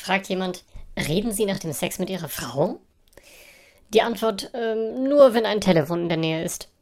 Fragt jemand, reden Sie nach dem Sex mit Ihrer Frau? Die Antwort, nur wenn ein Telefon in der Nähe ist.